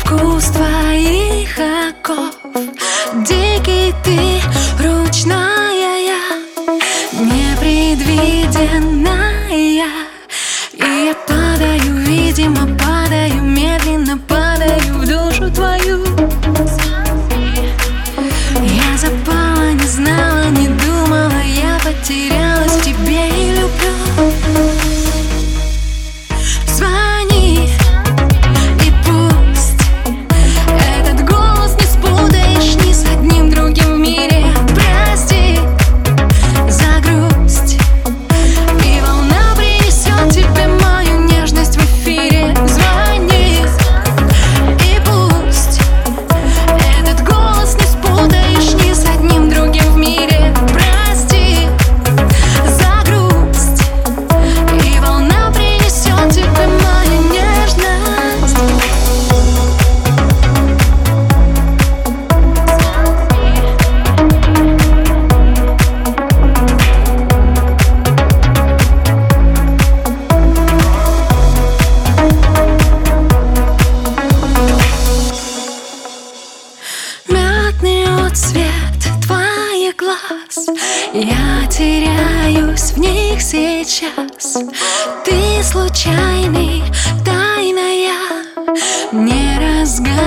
вкус твоих оков. Дикий ты, ручная я, непредвиденная. И я падаю, видимо, падаю, медленно падаю в душу твою. Я запала, не знала, не думала, я потерялась в тебе и люблю. Звони, и пусть этот голос не спутаешь ни с одним другим в мире. Прости за грусть, и волна принесет тебе мою нежность в эфире. Звони, и пусть этот голос не спутаешь ни с одним другим в мире. Прости за грусть, и волна принесет тебе мою нежность. Мятный отцвет твоих глаз, я теряюсь в них сейчас. Ты случайный, тайная, не разгадываемая.